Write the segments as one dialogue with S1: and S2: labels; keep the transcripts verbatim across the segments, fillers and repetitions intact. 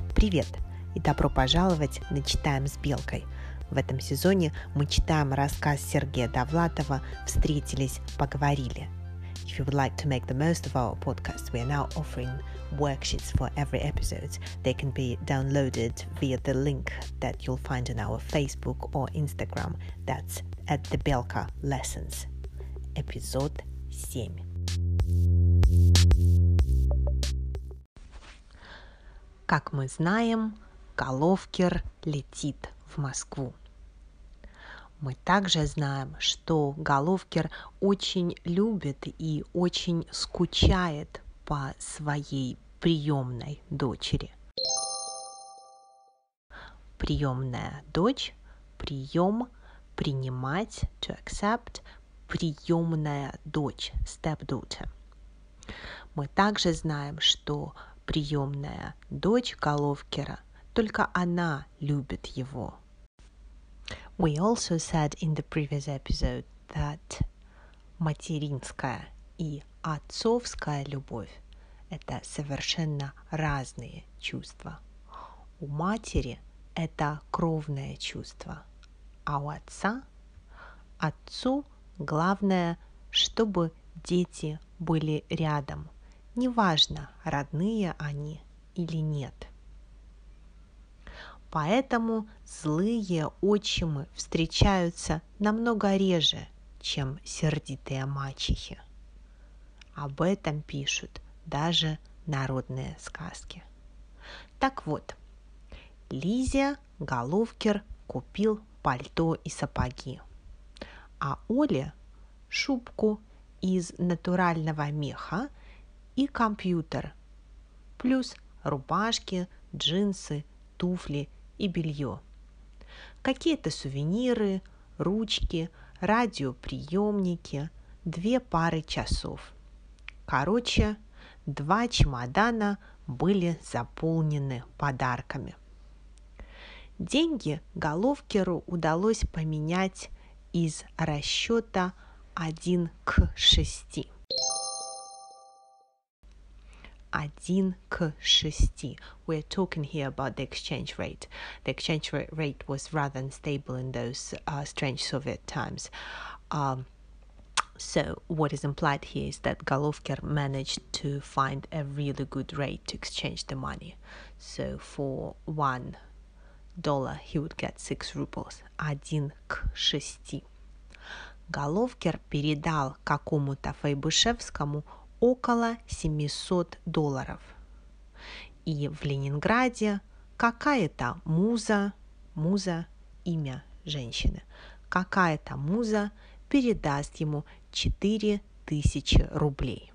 S1: Привет и добро пожаловать на «Читаем с Белкой». В этом сезоне мы читаем рассказ Сергея Довлатова «Встретились, поговорили». If you would like to make the most of our podcast, we are now offering worksheets for every episode. They can be downloaded via the link that you'll find on our Facebook or Instagram. That's at the Belka Lessons. Эпизод семь. Как мы знаем, Головкер летит в Москву. Мы также знаем, что Головкер очень любит и очень скучает по своей приемной дочери. Приемная дочь, прием, принимать, to accept, приемная дочь, stepdaughter. Мы также знаем, что приемная дочь Головкера, только она любит его. We also said in the previous episode that материнская и отцовская любовь – это совершенно разные чувства. У матери это кровное чувство, а у отца, отцу главное, чтобы дети были рядом. Неважно, родные они или нет. Поэтому злые отчимы встречаются намного реже, чем сердитые мачехи. Об этом пишут даже народные сказки. Так вот, Лизе Головкер купил пальто и сапоги, а Оле шубку из натурального меха и компьютер, плюс рубашки, джинсы, туфли и белье. Какие-то сувениры, ручки, радиоприемники, две пары часов. Короче, два чемодана были заполнены подарками. Деньги Головкеру удалось поменять из расчета один к шести. один к шести. We're talking here about the exchange rate. The exchange rate was rather unstable in those uh, strange Soviet times. Um, so what is implied here is that Головкер managed to find a really good rate to exchange the money. So for one dollar he would get six rubles. один к шести. Головкер передал какому-то Файбышевскому около семьсот долларов. И в Ленинграде какая-то муза, муза – имя женщины, какая-то муза передаст ему четыре тысячи рублей.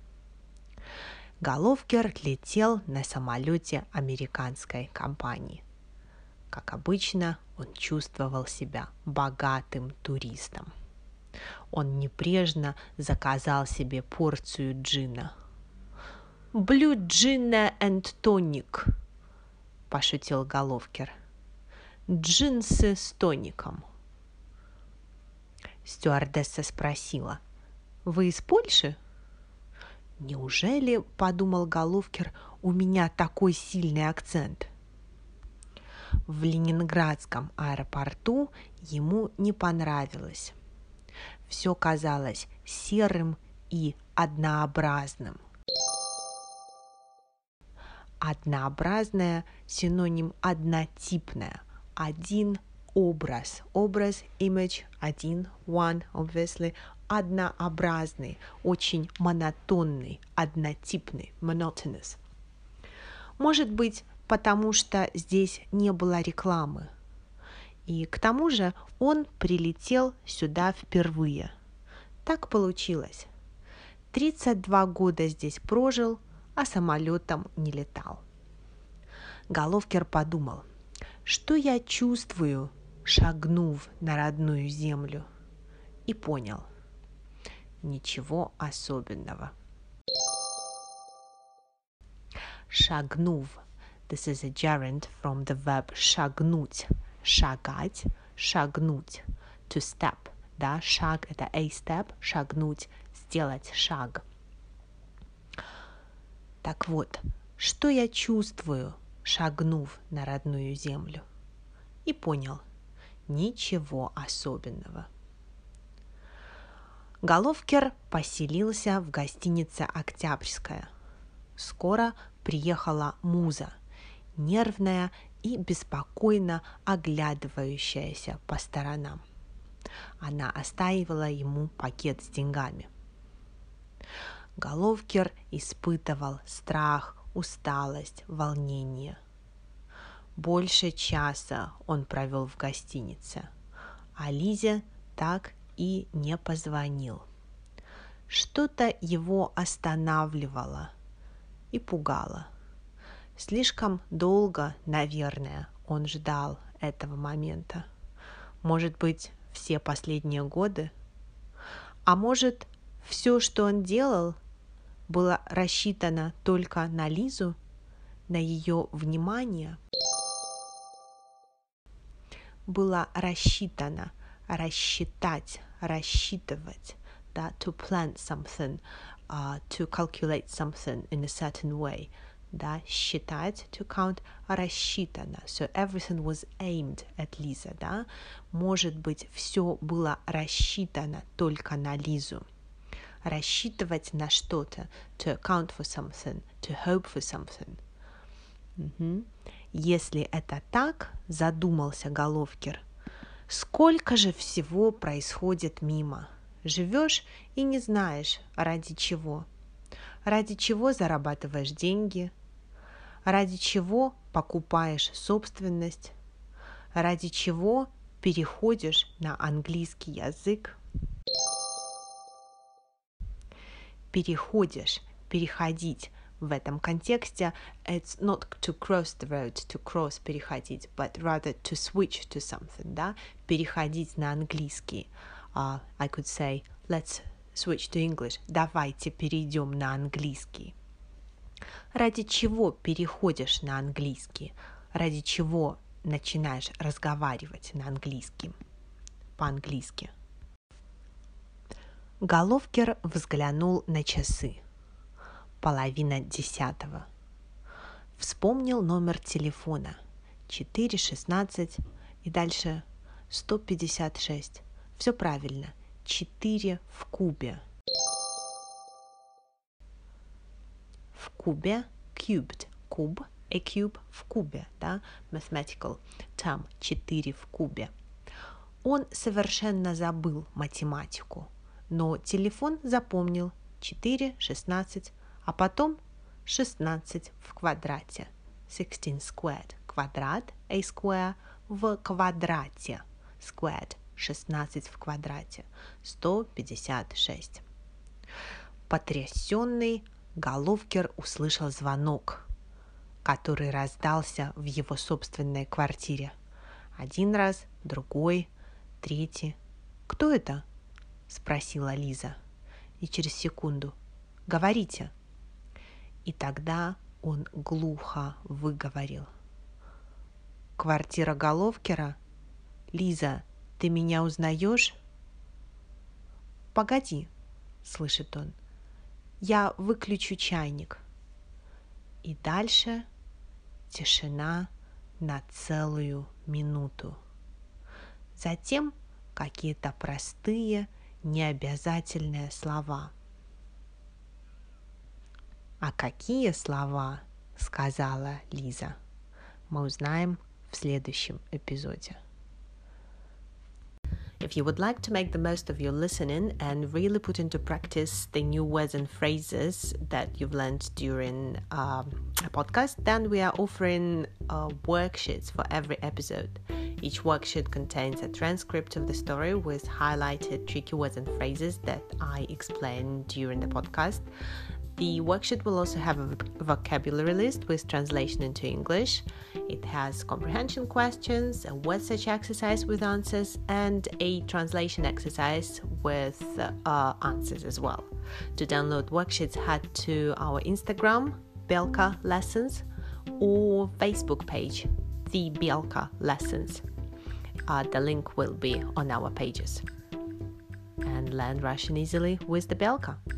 S1: Головкер летел на самолете американской компании. Как обычно, он чувствовал себя богатым туристом. Он небрежно заказал себе порцию джина. «Blue gin and tonic», – пошутил Головкер. «Джинсы с тоником». Стюардесса спросила: «Вы из Польши?» «Неужели, — подумал Головкер, — у меня такой сильный акцент?» В Ленинградском аэропорту ему не понравилось. Все казалось серым и однообразным. Однообразное – синоним однотипное. Один образ. Образ, image, один, one, obviously. Однообразный, очень монотонный, однотипный, monotonous. Может быть, потому что здесь не было рекламы. И к тому же он прилетел сюда впервые. Так получилось. тридцать два года здесь прожил, а самолетом не летал. Головкер подумал, что я чувствую, шагнув на родную землю. И понял. Ничего особенного. Шагнув. This is a gerund from the verb шагнуть. Шагать, шагнуть, to step, да, шаг – это a step, шагнуть, сделать шаг. Так вот, что я чувствую, шагнув на родную землю, и понял – ничего особенного. Головкер поселился в гостинице «Октябрьская». Скоро приехала Муза, нервная и беспокойно оглядывающаяся по сторонам. Она оставила ему пакет с деньгами. Головкер испытывал страх, усталость, волнение. Больше часа он провел в гостинице, а Лизе так и не позвонил. Что-то его останавливало и пугало. Слишком долго, наверное, он ждал этого момента. Может быть, все последние годы? А может, все, что он делал, было рассчитано только на Лизу, на ее внимание? Было рассчитано, рассчитать, рассчитывать, да, to plan something, uh, to calculate something in a certain way, да, считать, to count, рассчитано, so everything was aimed at Lisa, да, может быть, все было рассчитано только на Лизу, рассчитывать на что-то, to account for something, to hope for something. Угу. Если это так, задумался Головкер, сколько же всего происходит мимо. Живешь и не знаешь, ради чего. Ради чего зарабатываешь деньги, ради чего покупаешь собственность, ради чего переходишь на английский язык. Переходишь, переходить. В этом контексте it's not to cross the road, to cross, переходить, but rather to switch to something, да, переходить на английский. Uh, I could say, let's switch to English. Давайте перейдем на английский. Ради чего переходишь на английский? Ради чего начинаешь разговаривать на английском? По-английски. Головкер взглянул на часы. Половина десятого. Вспомнил номер телефона. четыре шестнадцать и дальше сто пятьдесят шесть. Все правильно. четыре в кубе. В кубе. Cubed. Куб. A cube в кубе. Да? Mathematical term. четыре в кубе. Он совершенно забыл математику, но телефон запомнил. четыре шестнадцать. А потом шестнадцать в квадрате. sixteen squared. Квадрат, a square, в квадрате. Squared. шестнадцать в квадрате. сто пятьдесят шесть. Потрясенный Головкер услышал звонок, который раздался в его собственной квартире. Один раз, другой, третий. «Кто это?» – спросила Лиза. И через секунду. «Говорите». И тогда он глухо выговорил. «Квартира Головкера? Лиза, ты меня узнаешь?» «Погоди», — слышит он, — «я выключу чайник». И дальше тишина на целую минуту. Затем какие-то простые, необязательные слова. «А какие слова?» — сказала Лиза. Мы узнаем в следующем эпизоде. If you would like to make the most of your listening and really put into practice the new words and phrases that you've learned during um, a podcast, then we are offering uh, worksheets for every episode. Each worksheet contains a transcript of the story with highlighted tricky words and phrases that I explained during the podcast. The worksheet will also have a vocabulary list with translation into English. It has comprehension questions, a word search exercise with answers, and a translation exercise with uh, answers as well. To download worksheets, head to our Instagram, Belka Lessons, or Facebook page, The Belka Lessons. Uh, the link will be on our pages. And learn Russian easily with the Belka.